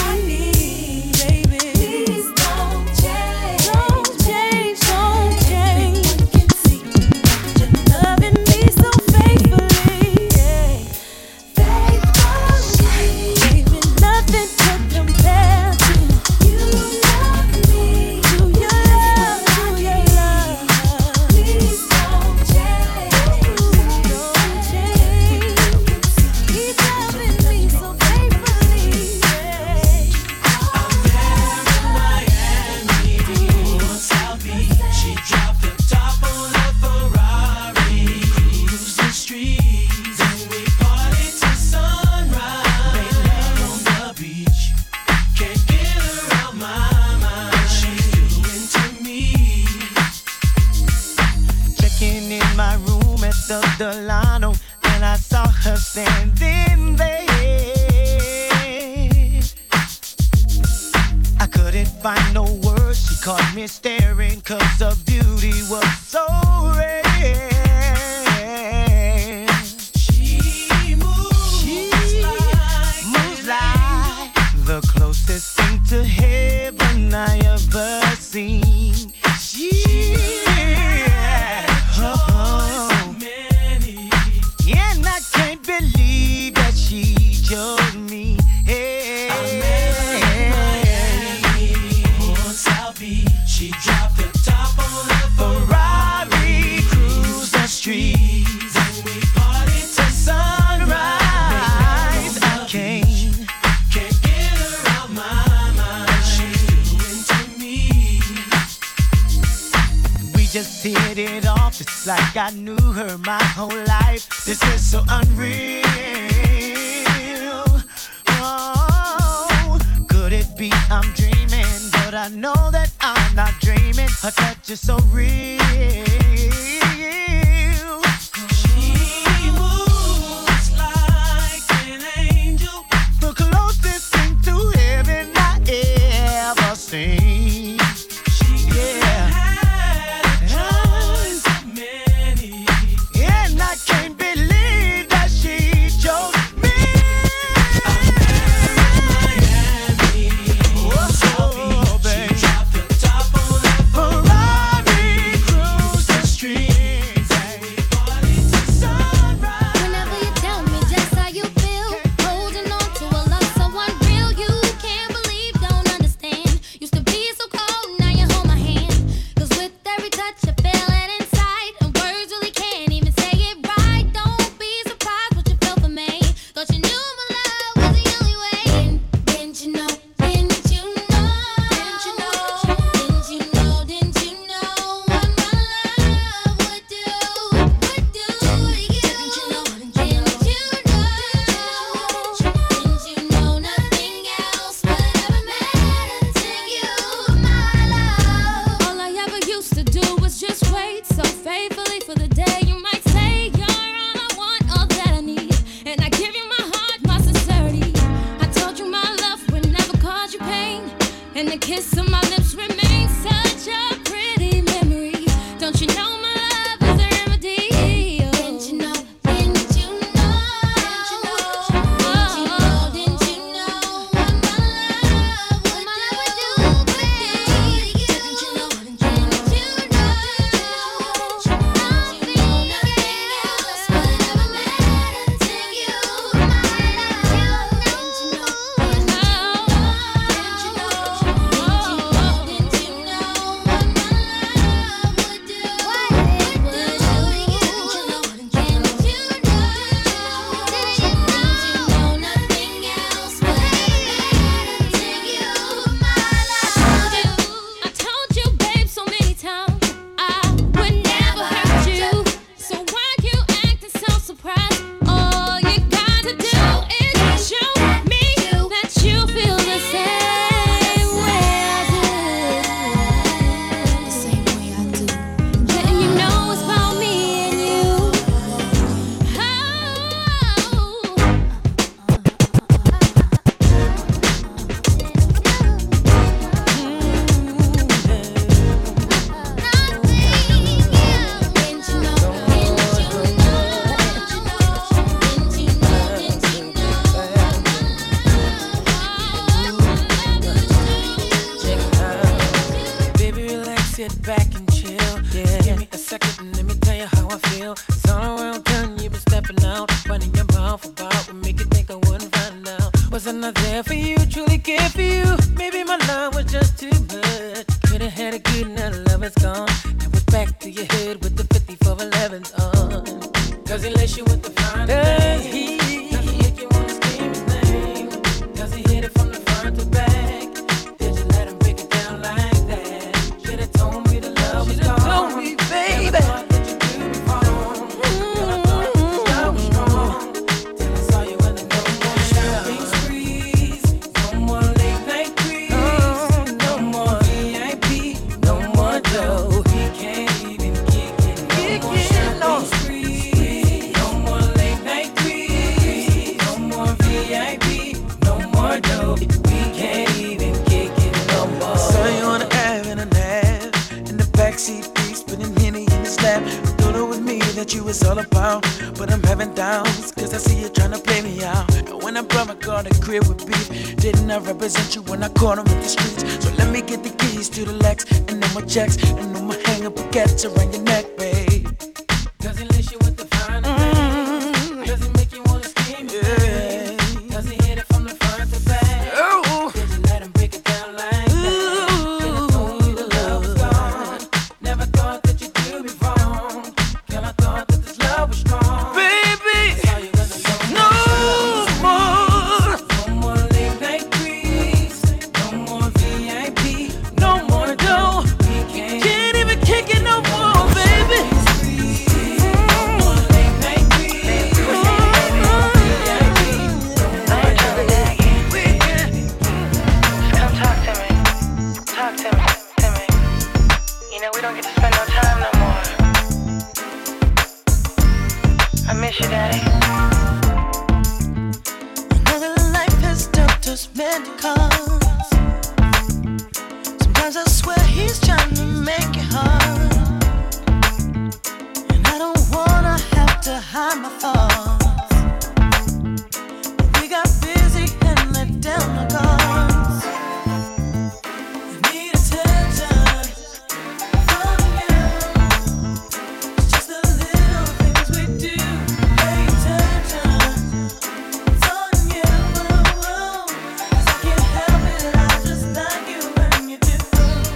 baby. Please don't change, don't change, don't change. Everyone can see that you're loving me so faithfully, yeah. Faithfully, baby, nothing could compare to you. Love me, to your love, to your love. Please don't change, don't change. Keep loving me so faithfully, yeah. South Beach, she dropped the top on a Ferrari, cruised the streets, and we partied till sunrise. Made love on the beach, can't get her out my mind. She's doing to me. Checking in my room at the Delano, and I saw her standing there. I couldn't find no words, she caught me staring, cause her beauty was so rare. She moves, she moves like the closest thing to heaven I ever seen. Yeah. Oh. And I can't believe that she chose me. Hey. I met her in Miami on South Beach. She dropped the top on her Ferrari, cruised the streets, and we partied till sunrise. I can't, can't get her out my mind. She's doing to me. We just hit it off. It's like I knew her my whole life. This is so unreal. Oh, could it be I'm dreaming? But I know that I'm not dreaming. Her touch is so real. She moves like an angel, the closest thing to heaven I ever seen. She yeah. Has so many, and I can't believe that she chose me. I met her in Miami. Oh, baby. She dropped the top on her Ferrari, cruised the streets, and we partied till sunrise. Whenever you tell me just how you feel, holding on to a love so unreal, you can't believe, don't understand. Used to be so cold, now you hold my hand. Cause with every touch I feel it inside, and words really can't even say it right. Don't be surprised what you feel for me. Thought you knew my love was the only way. Didn't you know? Didn't you know? Didn't you know? Didn't you know? Didn't you know what my love would do? Would do to you? Didn't you know? Didn't you know? Didn't you know nothing else would ever matter to you, my love? All I ever used to do was just wait so faithfully for the day you might say you're all I want, all that I need, and I give you my heart, my sincerity. I told you my love would never cause you pain, and the kiss of my lips remains such a pretty memory. Don't you know my love is a remedy? Didn't you know? Didn't you know? Didn't you know? Didn't you know? What my love would do? Didn't you know? Didn't you know? I told you, babe, so many times I would never hurt you. So why you acting so surprised? All you gotta do is show me that you feel the same way I do. The same way I do. Then you know it's about me and you. Baby, relax, sit back and chill. Yeah. Give me a second and let me tell you how I feel. It's all around done, you've been stepping out. Running your mouth about would make you think I wouldn't find out. Was I not there for you, truly care for you? Maybe my love was just too much. Could've had a good night, love is gone. Now we're back to your head with the fifty-four elevens on. Cause he lets you with the fine thing. Does he make you wanna scream his name? Does he hit it from the front to back? Did you let him break it down like that? Should've told me the love was gone. Told me, baby. Never thought that you'd do me wrong. But I thought that your love was strong. Till I saw you in the no more shopping sprees, no more late night creeps, no more V I P, no more dough. He can't even kick it, no more shopping sprees, no more late night creeps, no more V I P, no more dough. We can't even kick it no more. I saw you on the Ave in a nap, in the backseat, spinning Henny in his lap. I thought it was me that you was all about, but I'm having doubts, cause I see you trying to play me out. And when I brought my car on the crib with beef. Didn't I represent you when I caught him in the streets? So let me get the keys to the Lex and then my checks and then my hang up baguettes around your neck, babe. Does it lace you with the fine? Mm. Does it make you wanna scream? Yeah. Does it hit it from the front to back? Oh. Did you let him break it down like Ooh. that? Then I told you the love was gone. Never thought that you'd do me wrong. Girl, I thought that this love was strong. Baby, no more. No more late night creeps. No more V I P. no more dough. Can't even kick it no more, baby. Come talk to me. Talk to me, to me. You know we don't get to spend no time no more. I miss you, Daddy. Another life has dealt us many cards. Sometimes I swear he's trying to make it hard, and I don't wanna have to hide my thoughts. But we got busy and let down the guards. I need attention from you. It's just the little things we do. Pay attention. It's on you. 'Cause I can't help it. I just like you when you do.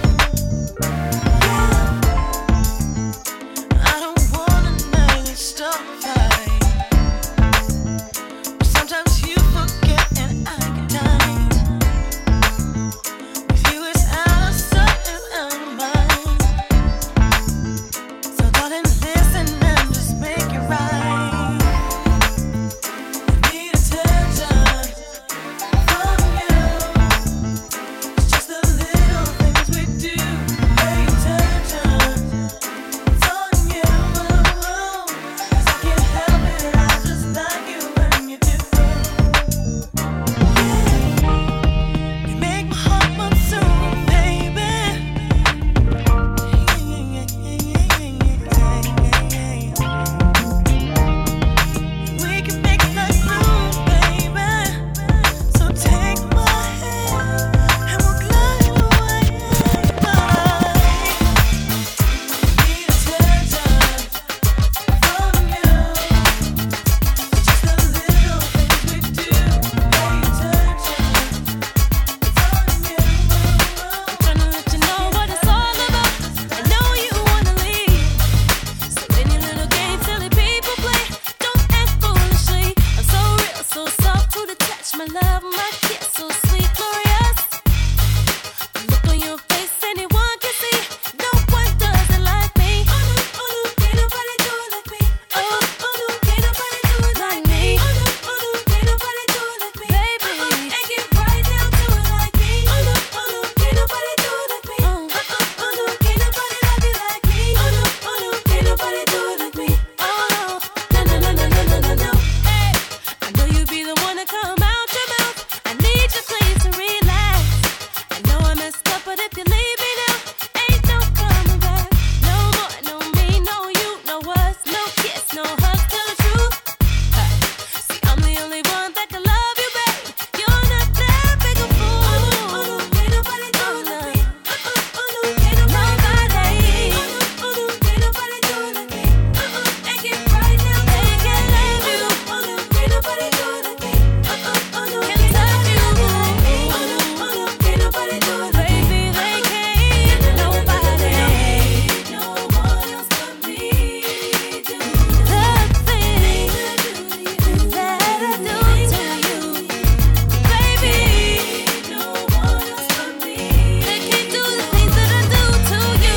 I don't wanna make stop fight. But sometimes you forget and I get time. With you it's out of sight and out of mind. So darling, listen and just make it right. I need attention from you. It's just the little things we do. Pay attention. It's on you. 'Cause I can't help it. I just like you when you do. You make my heart pump soon, baby. We can make it like blue, baby. So take my hand and we'll glide away. Need attention from you. Just the little things we do. Pay attention. I'm tryna let you know what it's all about. I know you wanna leave, so any little game silly people play, don't act foolishly. I'm so real, so soft to the touch, my love, my kiss, so sweet, glorious. Look on your face, anyone can see. No one does it like me. Oh no, oh no, can't nobody do it like me. Oh, oh no, can't nobody do it like me. Oh no, oh no, can't nobody do it like me. Baby, and get right down to it like me. Oh no, oh no, can't nobody do it like me. Oh, oh, oh no, can't nobody love you like me. Oh no, oh no, can't nobody do it like me. Oh no, no, no, no, no, no, no, no. Hey, I know you be the one to come out your mouth. I need your place to relax. I know I messed up, but if you leave me now, ain't no coming back. No more, no me, no you, no us, no kiss, no hug, tell the truth. Uh, See, I'm the only one that can love you, babe. You're not that big a fool. Oh no, oh no, can't nobody do it like me. Uh uh, oh no, can't nobody. Oh no, oh no, can't nobody do it like me. Uh uh, and get right now, they can love you. Oh no, can't nobody do it like me. Uh uh, oh no, can't touch you. Oh no, oh no, can't nobody do it like me. Baby, they can't nobody. No one else but me do the things that I do to you. Baby, no one else but me. They can't do the things that I do to you.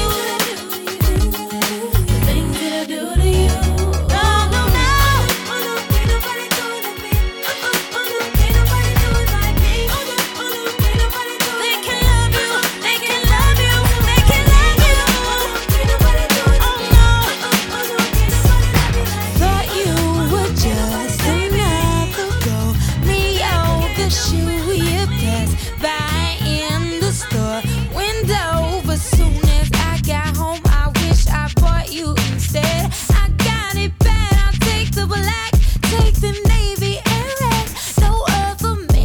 The things that I do to you. No, no, no. Oh no, can't nobody do it like me. Uh uh, oh no, can't nobody do it like me. Oh no, oh no, can't nobody do it. They can love you. They can love you. They can love you. Can't nobody do it. Oh no, uh uh, oh no, can't nobody love you like me. Thought you were just another girl. Me out the shoe you pass by in the store window. But soon as I got home, I wish I bought you instead. I got it bad. I'll take the black, take the navy and red. No other man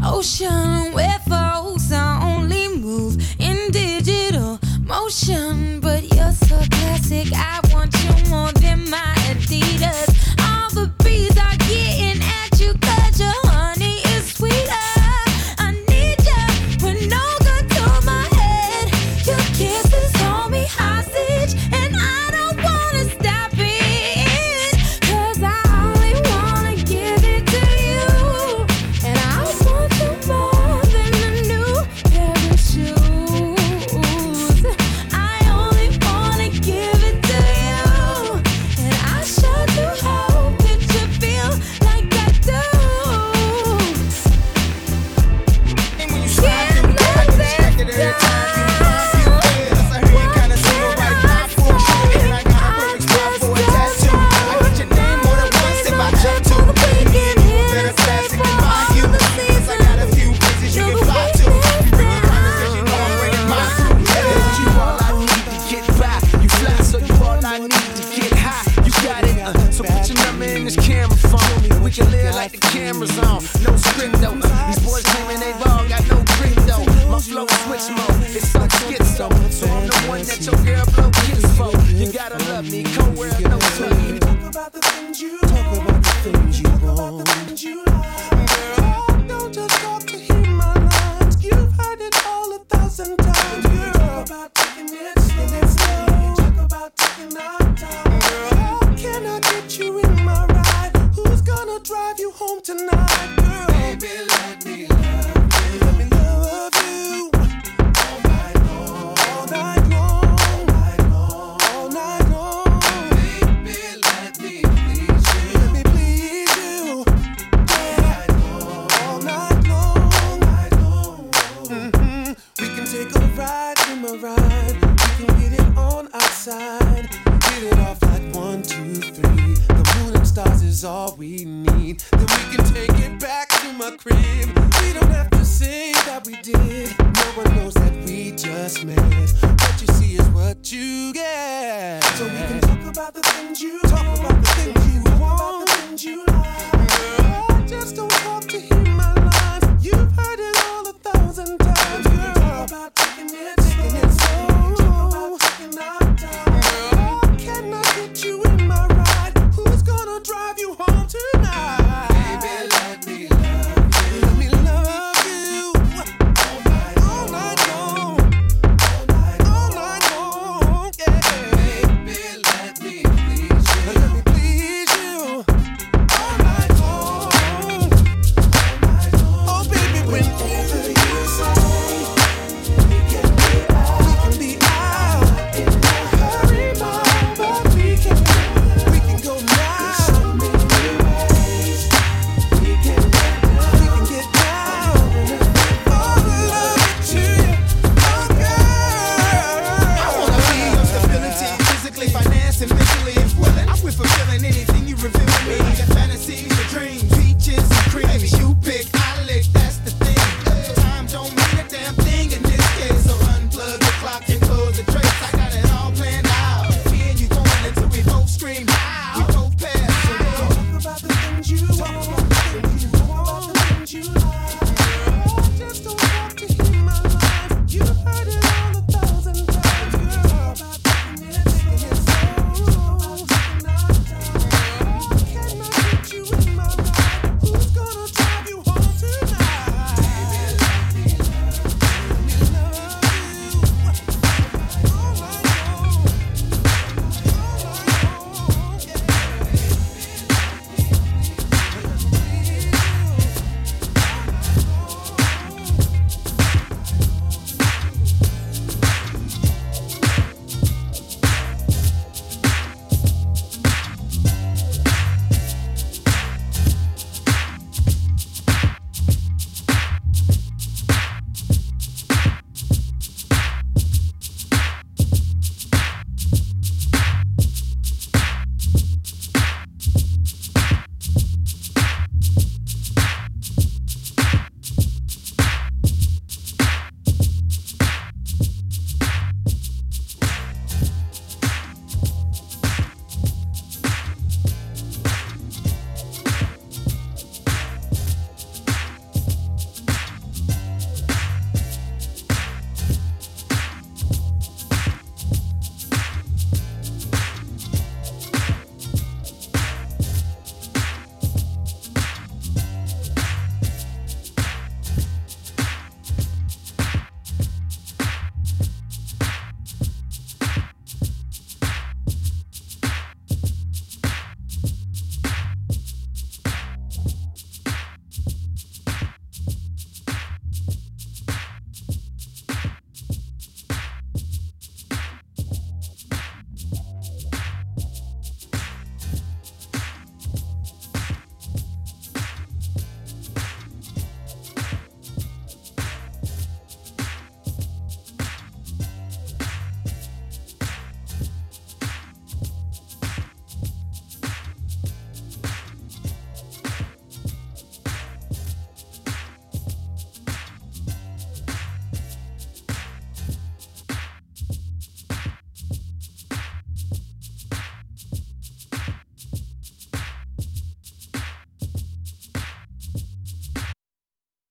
ocean where folks only move in digital motion. But you're so classic, I want you more than my Adidas. All the bees are getting at you 'cause your honey is sweeter. I need ya with no gun to my head. Your kisses hold me hostage, and I don't wanna stop it, 'cause I only wanna give it to you. And I want you more than a new pair of shoes. I only wanna give it to you, and I sure do hope that you feel like I do. And when you slide through the door, I can check it every time you run. You feel, I heard you kinda single right now for a trip, and I got a perfect spot for a tattoo. I got your name more than once if I jump to. You need a better classic than mine, you. 'Cause I got a few places you can fly to. You bring it round 'cause you know I'm bringing my crew. Yeah, you all I need to get by. You fly, so you all I need to get high. You got it, uh, so put your number in this camera phone, and we can live like the camera's on. No script though. These boys claiming they all got no grip though. My flow switch mode, it's so schizo. So I'm the one that your girl blow kiss for. You gotta love me, co-wear no sweat. Talk about the things you talk about the things you want. Girl, don't just talk to hear my lines. You've heard it all a thousand times. Girl, talk about taking it slow. Talk about taking our time. Girl, can I get you in my ride? Who's gonna drive you home tonight? Girl, baby, let me love you. Let me love you. All night long. All night long. All night long. Baby, let me please you. Let me please you. Yeah. All night long. All night long. Mm-hmm. We can take a ride in my ride. We can get it on outside. Get it off like one, two, three. The moon and stars is all we need. Then we can take it back to my crib. We don't have to say that we did. No one knows that we just met. What you see is what you get. So we can talk about the things you talk about the things you want, the things you like.